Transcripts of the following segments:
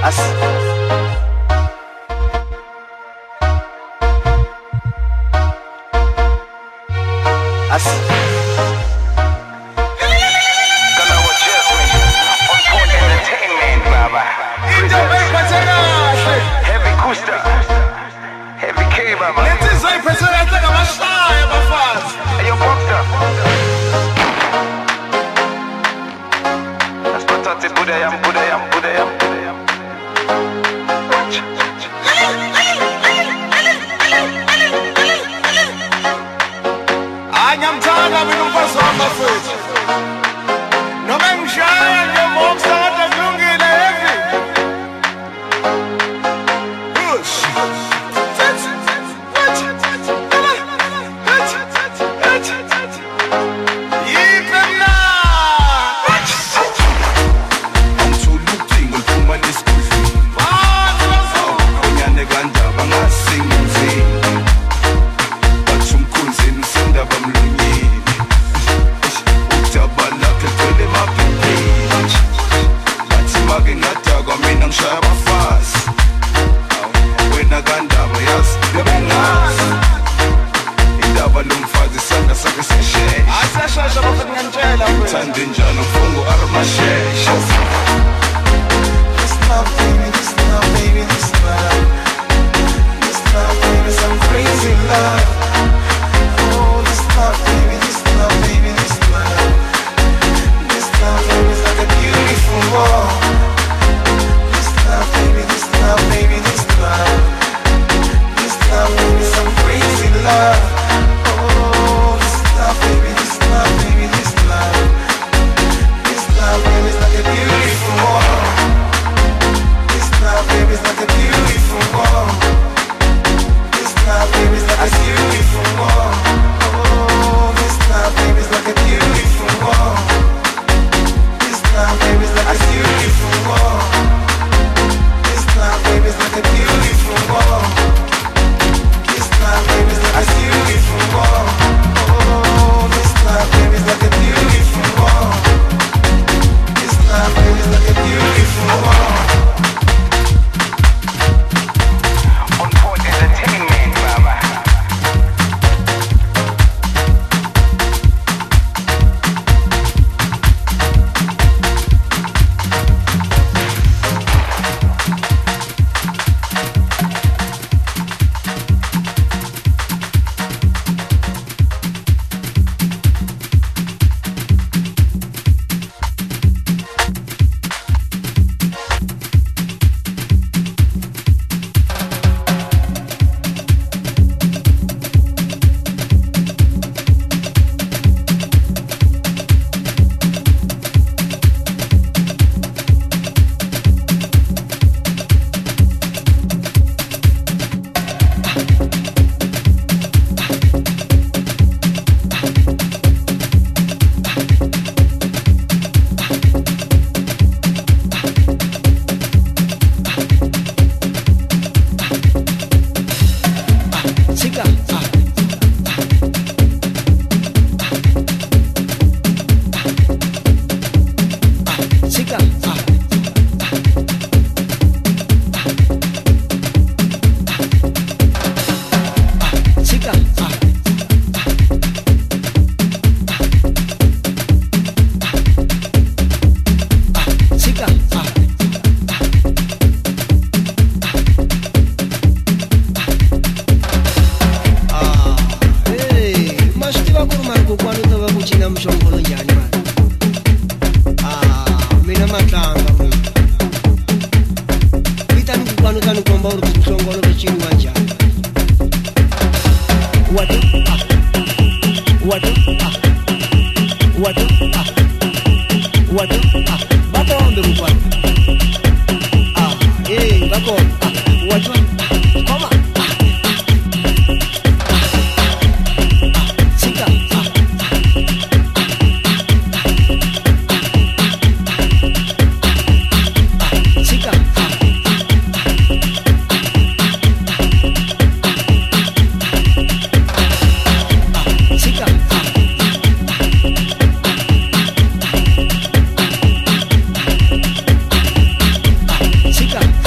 Chica.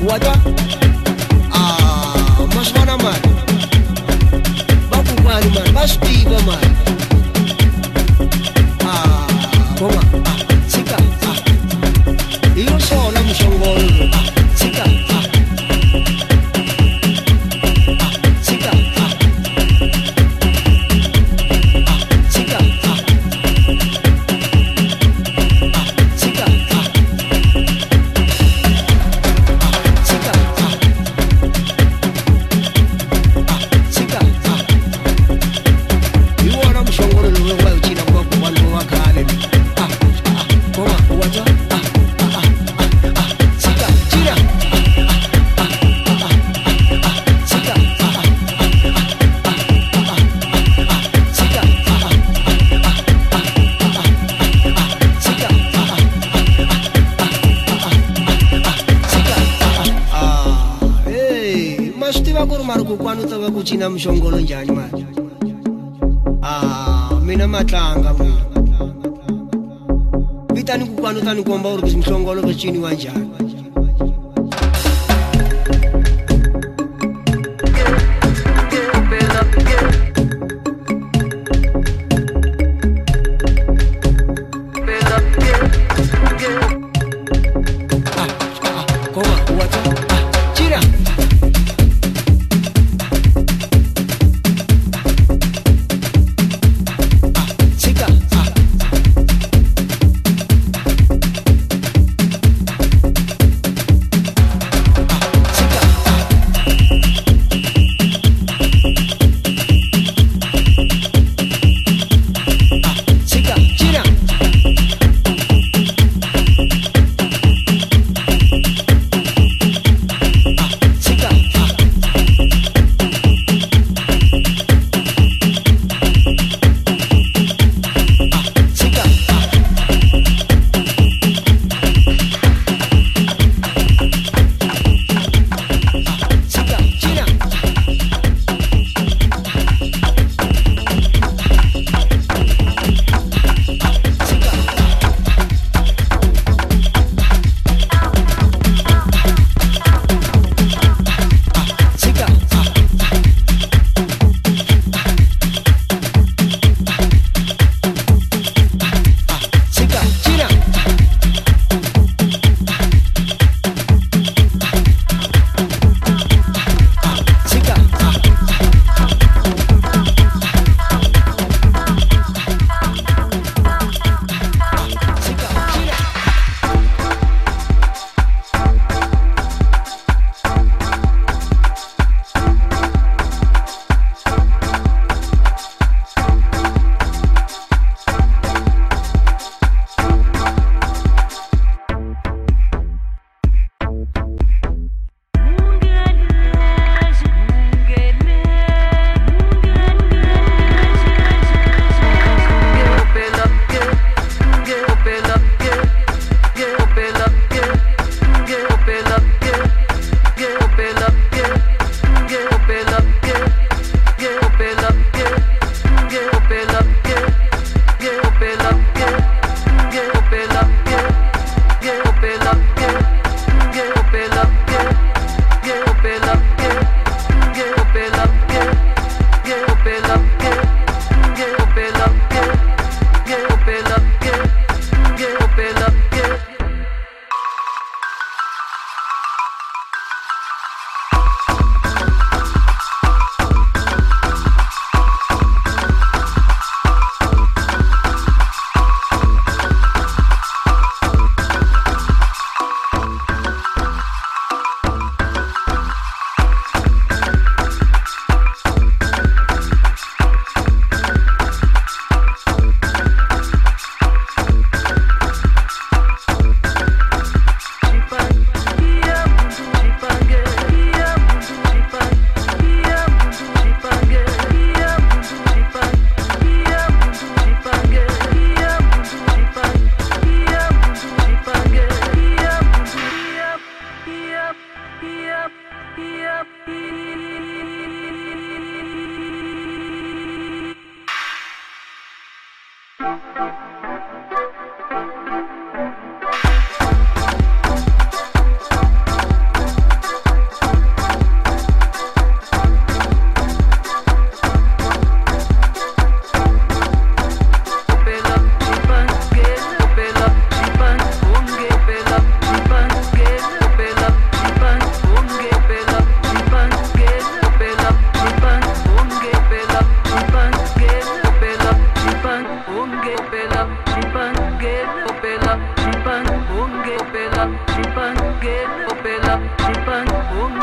Wada mas mana man baku mari man mas tiba man koma sika iyo sola mshongol sika sika sika Kuchina mshongolo njani manje mina matlanga mina bitani kukwano tani komba uri mshongolo kuchini wanjani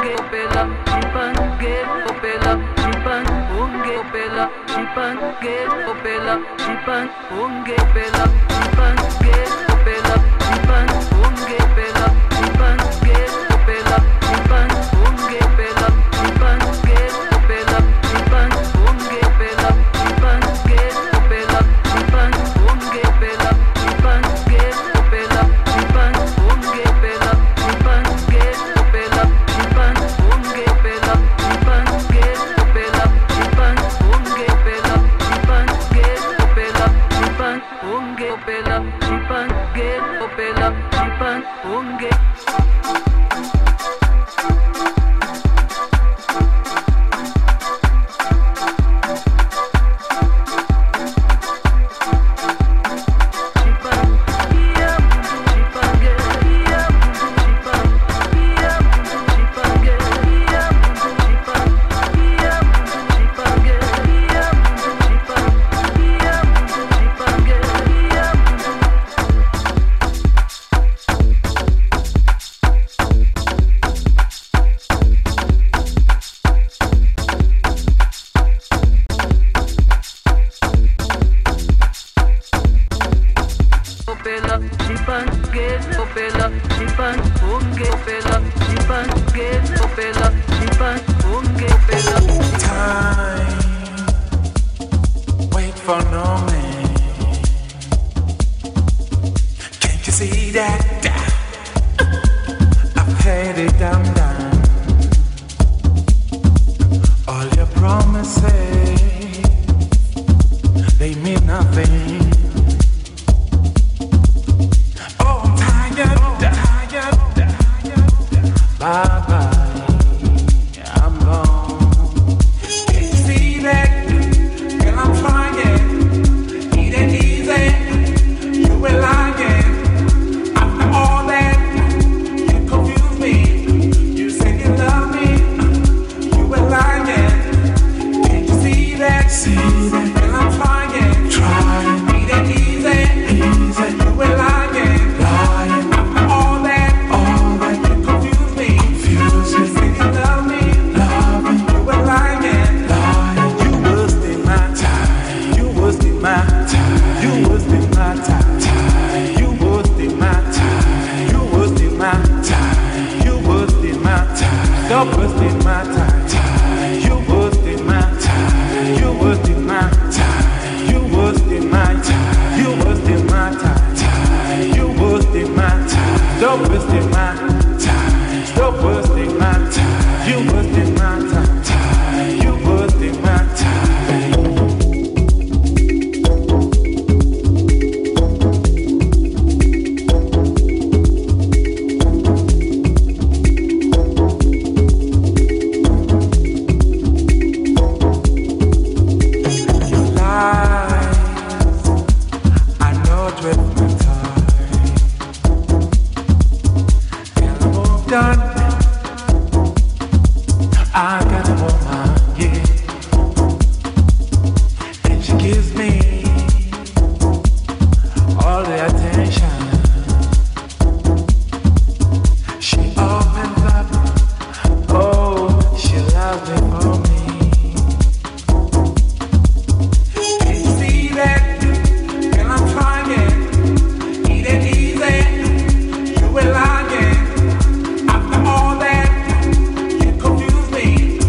After all that, you confuse me.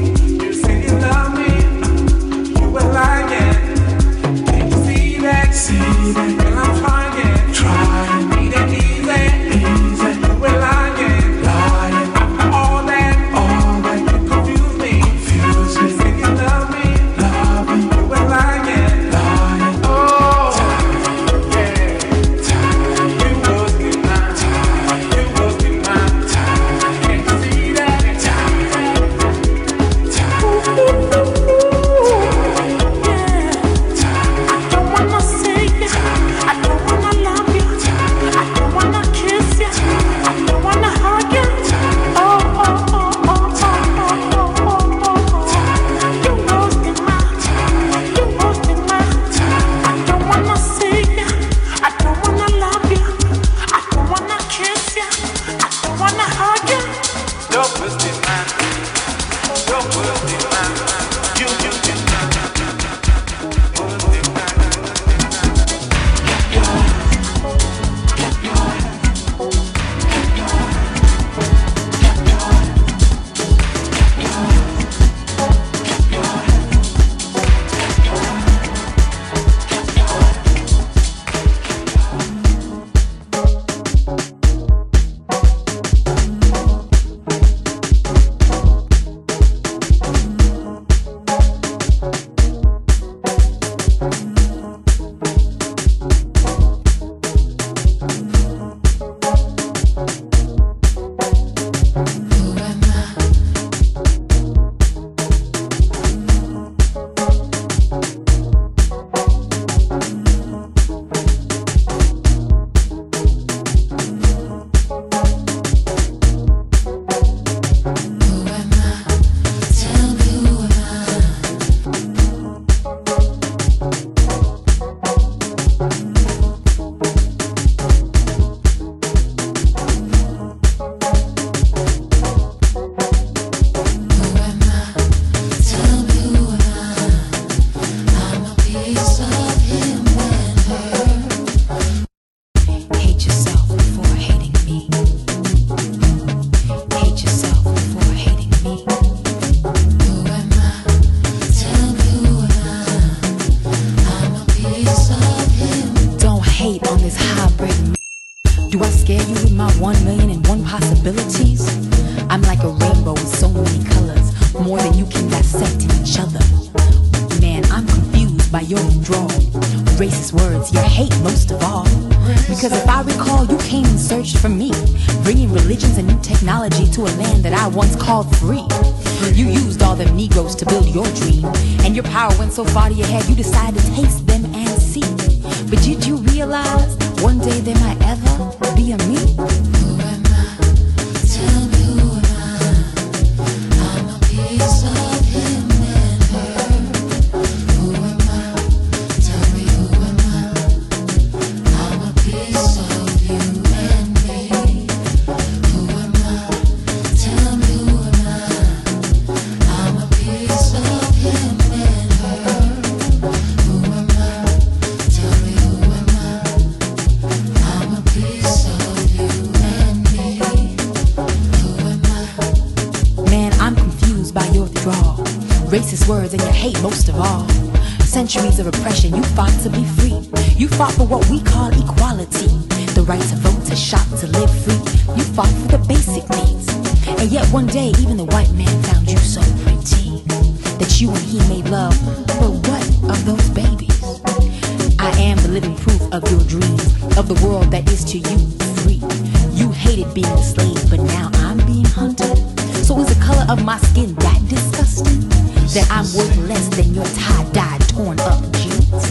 racist words you hate most of all. Because if I recall, you came and searched for me, bringing religions and new technology to a land that I once called free. You used all them Negroes to build your dream, and your power went so far to your head you decided to taste them and see. But did you realize one day there might ever be a me? Who am I? Tell me who am I? I'm a piece of him and her. Who am I? Tell me who am I? I'm a piece of you and me. Who am I? Tell me who am I? I'm a piece of him and her. Who am I? Tell me who am I? I'm a piece of you and me. Who am I? Man, I'm confused by your withdrawal. Racist words and your hate most of all. Centuries of oppression, you fought to be free. You fought for what we call equality. The right to vote, to shop, to live free. You fought for the basic needs. And yet one day, even the white man found you so pretty that you and he made love. But what of those babies? I am the living proof of your dreams, of the world that is to you free. You hated being a slave, but now I'm being hunted. So is the color of my skin that disgusting? That I'm worth less than your tie-dye, torn up jeans?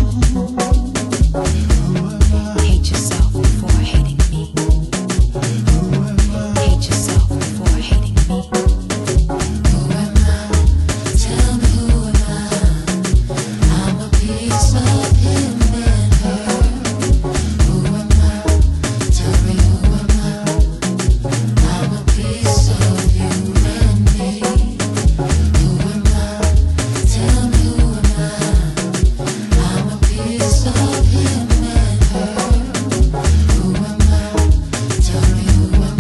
Hate yourself before hating me. Hate yourself before hating me. Who am I? Tell me who am I? I'm a piece of him and her. Who am I? Tell me who am I? I'm a piece of you and me. Who am I? Tell me who am I? I'm a piece of him and her. Who am I? Tell me who am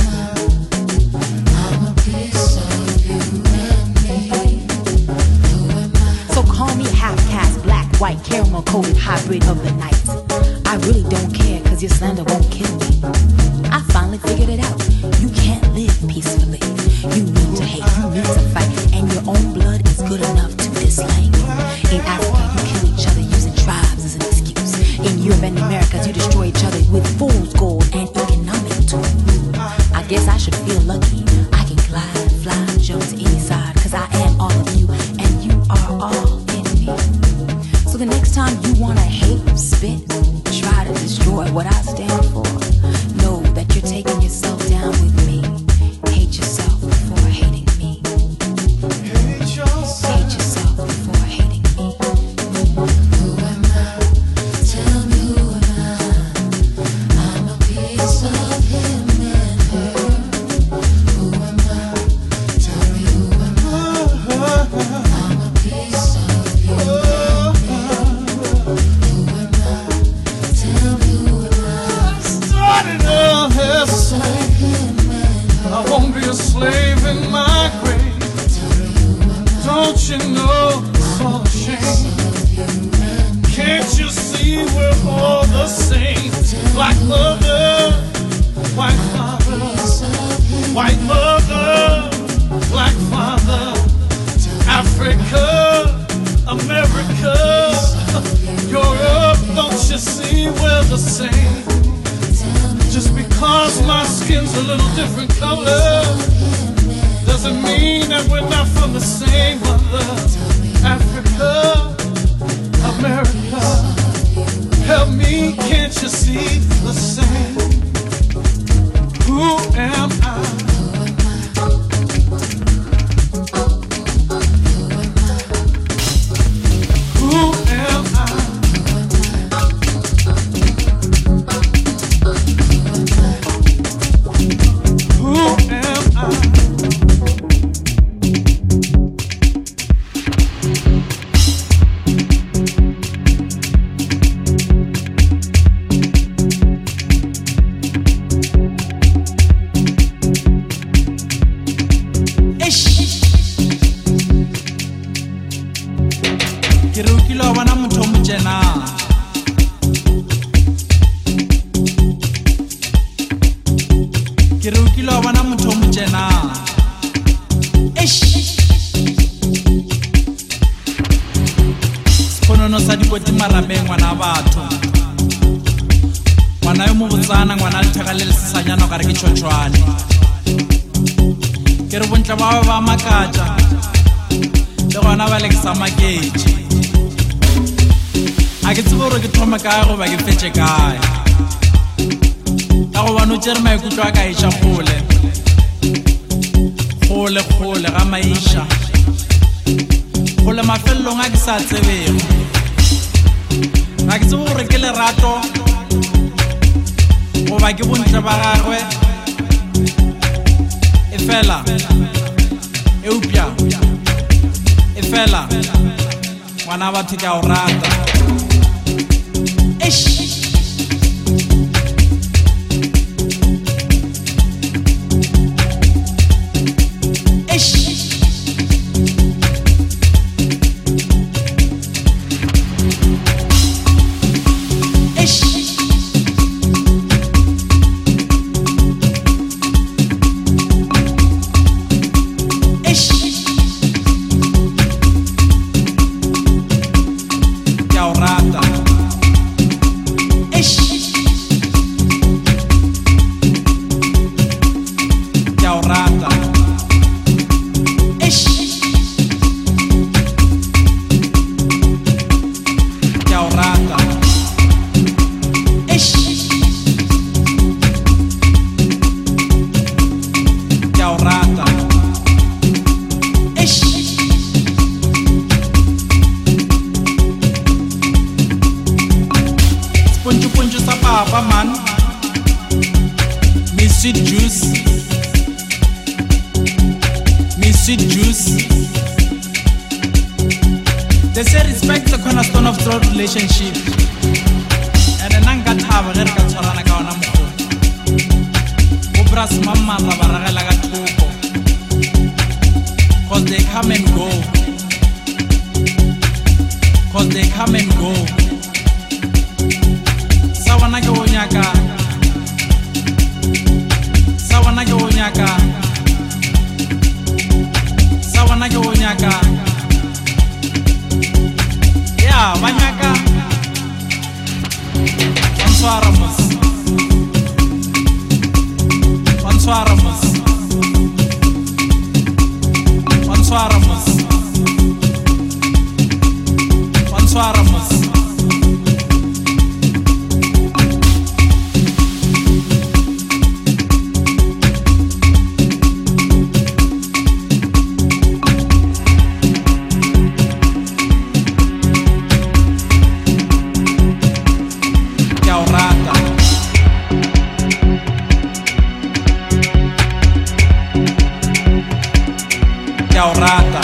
I? I'm a piece of you and me. Who am I? So call me half-caste, black, white, caramel-coated hybrid of the night. I really don't care, cause your slander won't kill me. I finally figured it out. You can't live peacefully. You need to hate, you need to fight, and your own blood is good enough to dislike. In Africa, you kill each other using tribes as an excuse. In Europe and Americas, you destroy each other with fool's gold and economic tools. I guess I should feel lucky. I can glide, fly, jump to any side, cause I am all of you, and you are all in me. So the next time you wanna hate, spit, try to destroy what I stand for, know that you're taking yourself down with me. Hate yourself before hating me. Hate yourself before hating me. Who am I? Tell me who am I? I'm a piece of him and her. Who am I? Tell me who am I? I'm a piece of you and me. Who am I? Tell me who am I? Started a hustle. I won't be a slave in my grave. Don't you know it's all a shame? Can't you see we're all the same? Black mother, white father, white mother, black father, Africa, America, Europe. Don't you see we're the same? Just because my skin's a little different color doesn't mean that we're not from the same mother. Africa, America, help me, can't you see the same? Who am I? Who am I? Who am I? Ke re o kile wa bona motho o motjena. Ke re o kile wa bona motho o motjena. Sponono sa dikoti marabeng wana batho. gare ke tšhotšhwane ke re bontle ba ba makatša le gona ba le ke sa maketše a ke tsebe gore ke thome kae goba ke fetše kae ka gobane o tšere maikutlo a ka iša kgole ga maiša kgole mafelelong a ke sa tsebego ga ke tsebe gore ke lerato goba ke bontle ba gagwe e fela eupša e fela ngwana batho ke a o rata Papa man, me sweet juice, They say respect the cornerstone of all relationship. And then I got have a red catcharana kawana mo. Ubras mama rabaragala gatuko. Cause they come and go. Sawana ke onyaka ya banyaka Answaramus rata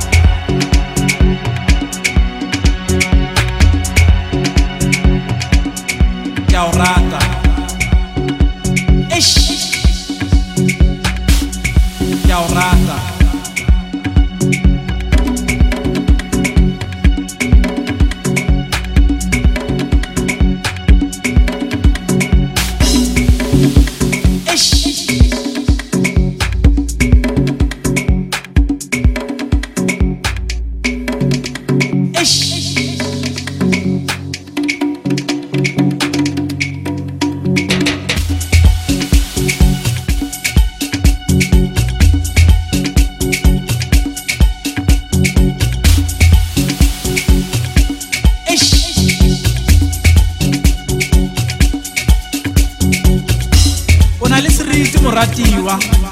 moratiwa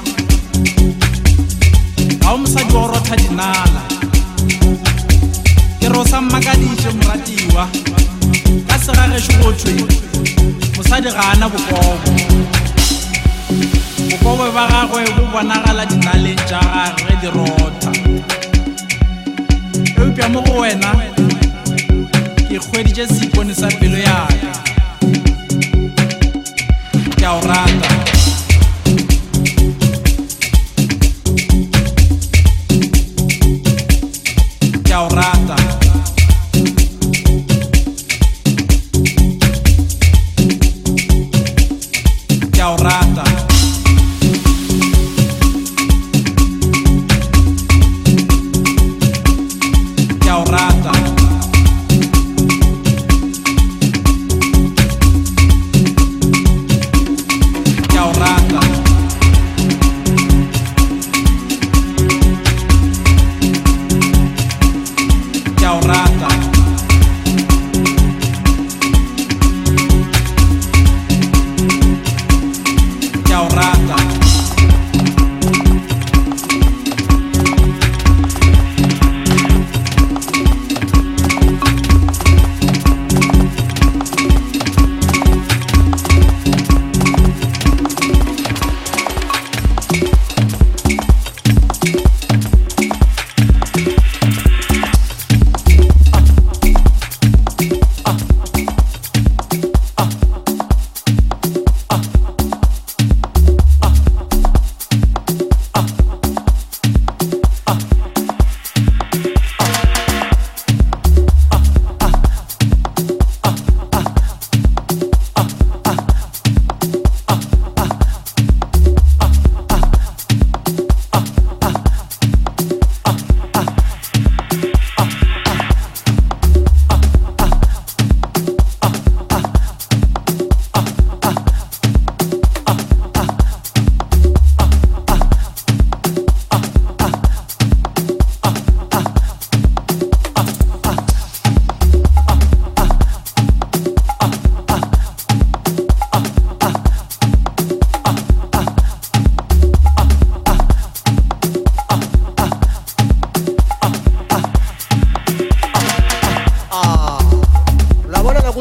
ga o mosadi wa go rotha dinala ke rosa mmakaditše moratiwa ka segagešo gothwe mosadi ga ana bokobo ba gagwe bo bonagala dinaleng tša gagwe di rotha eupša mo go wena ke kgweditše seipone sa pelo yaka ke a o rata Rata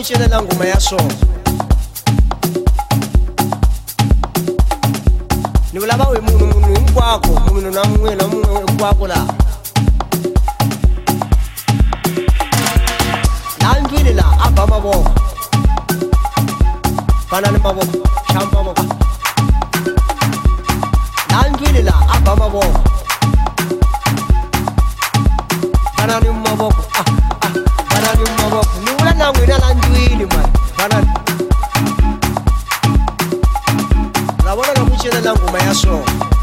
kucelela ngoma ya so ni vulava we munhu hinkwako munhu na mun'we hinkwako laha laha ndlwini laha a ba mavoko fana ni mavoko xamba mavoko laha ndlwini laha a ba mavoko fana ni mavoko fana ni mavoko ni vula na n'wina laha ndlwini mani fana lavona na ku celela ngoma ya so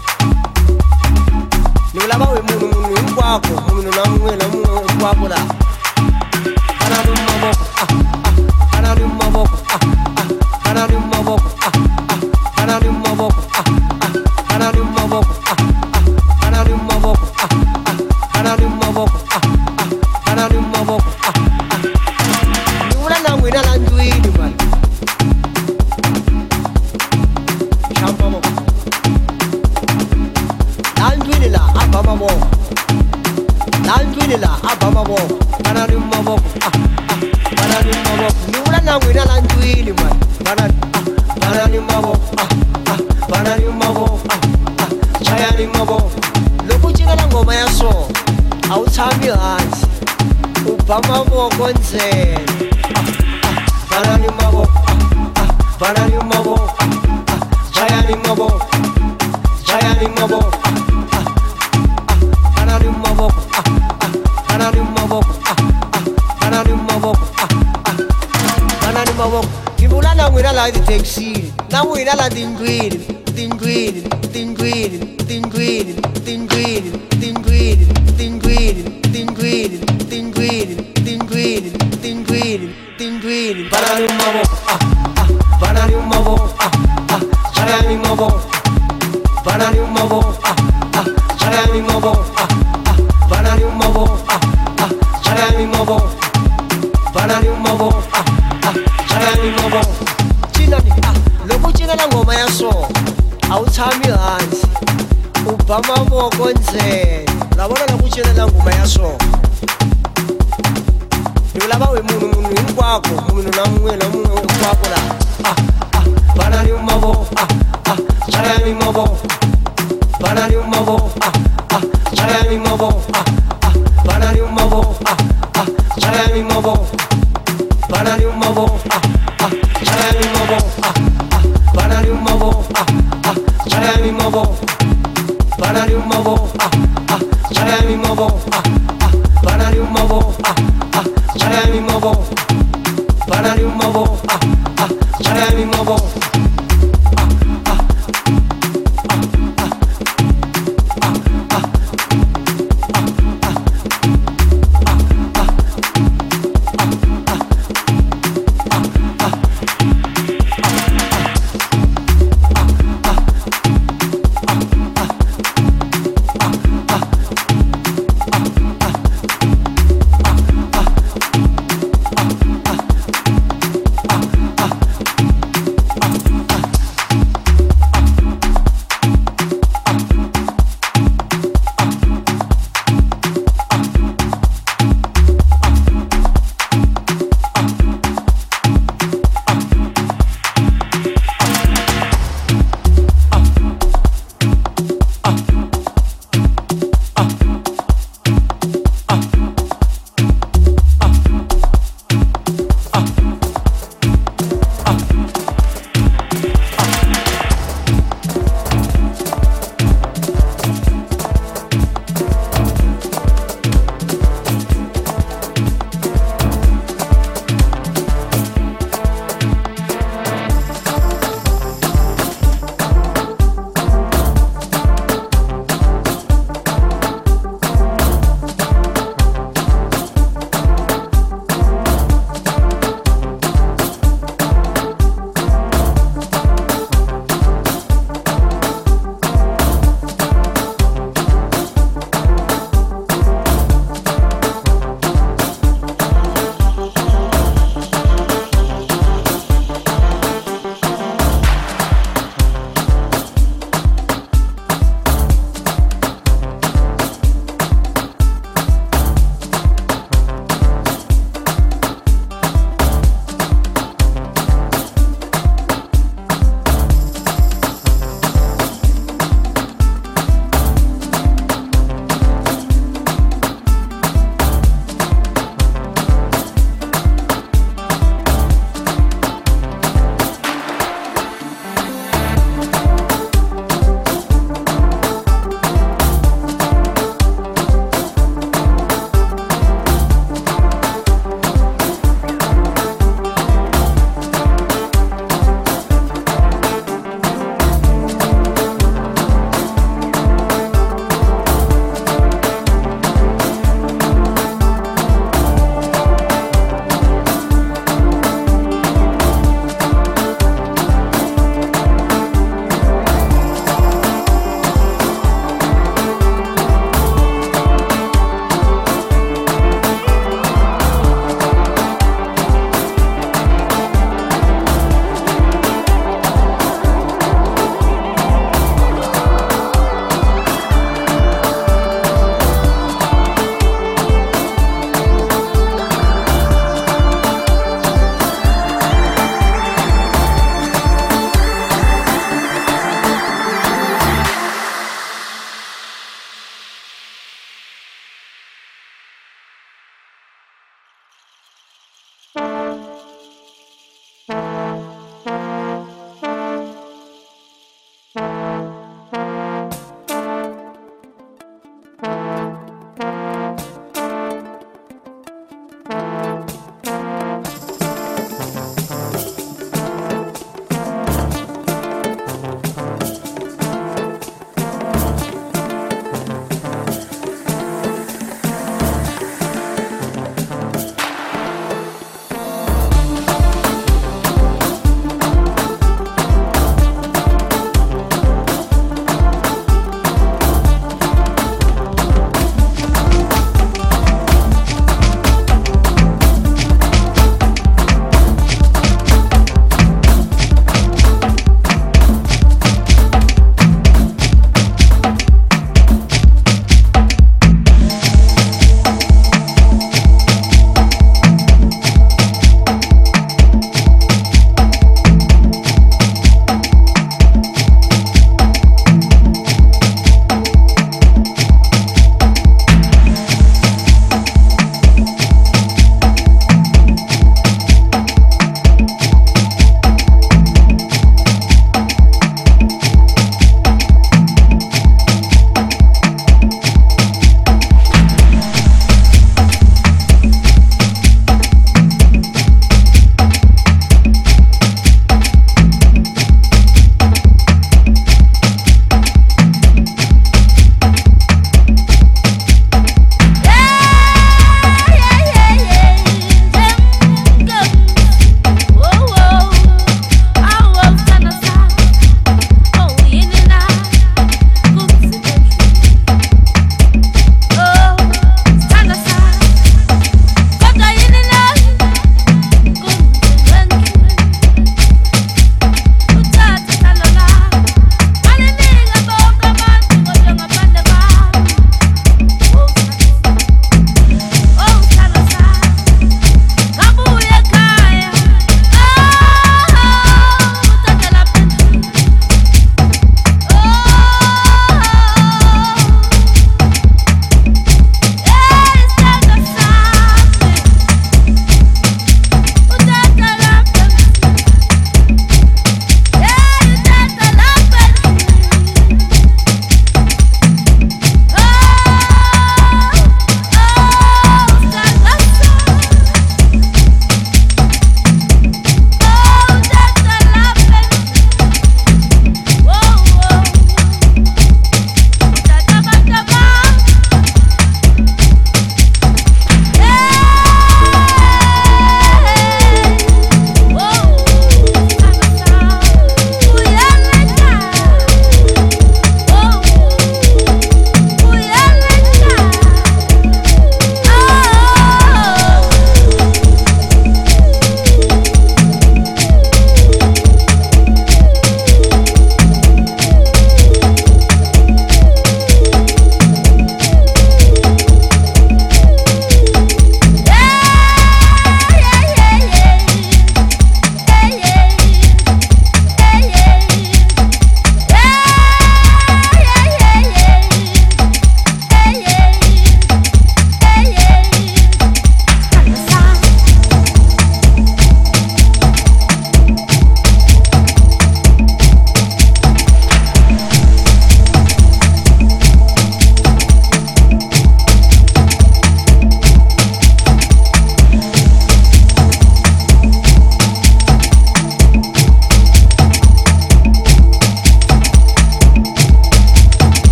ni vulava we munhu hinkwako munhu na mun'we hinkwako laha fana ni mavoko fana ni mavoko fana ni mavoko fana ni mavoko fana ni mavoko fana ni mavoko fana ni mavoko fana ni mavoko ni vula na n'wina laha ndlwini mani xamba mavoko laha ndlwini laha a ba mavoko laha ndlwini laha a ba mavoko fana ni mavoko fana ni mavoko ni vula na n'wina laha ndlwini mani fana ni mavoko fana ni mavoko chaya ni mavoko loko u cinela ngoma ya so a wu tshami hansi u ba mavoko ntsena fana ni mavoko fana ni mavoko chaya ni mavoko chaya ni mavoko fana ni mavoko fana ni mavoko fana ni mavoko fana ni mavoko ni vula na n'wina laha tithekisini na n'wina laha tindlwini tindlwini tindlwini tindlwini tindlwini tindlwini tindlwini tindlwini tindlwini tindlwini tindlwini tindlwini fana ni mavoko fana ni mavoko chaya ni mavoko fana ni mavoko chaya ni mavoko fana ni mavoko chaya ni mavoko fana ni mavoko chaya ni mavoko cinani loko u cinela ngoma ya so a wu tshami hansi u ba mavoko ntsena lavona na ku cinela ngoma ya so ni vulava we munhu hinkwako munhu na mun'we hinkwako laha fana ni mavoko chaya ni mavoko fana ni mavoko chaya ni mavoko fana ni mavoko chaya ni mavoko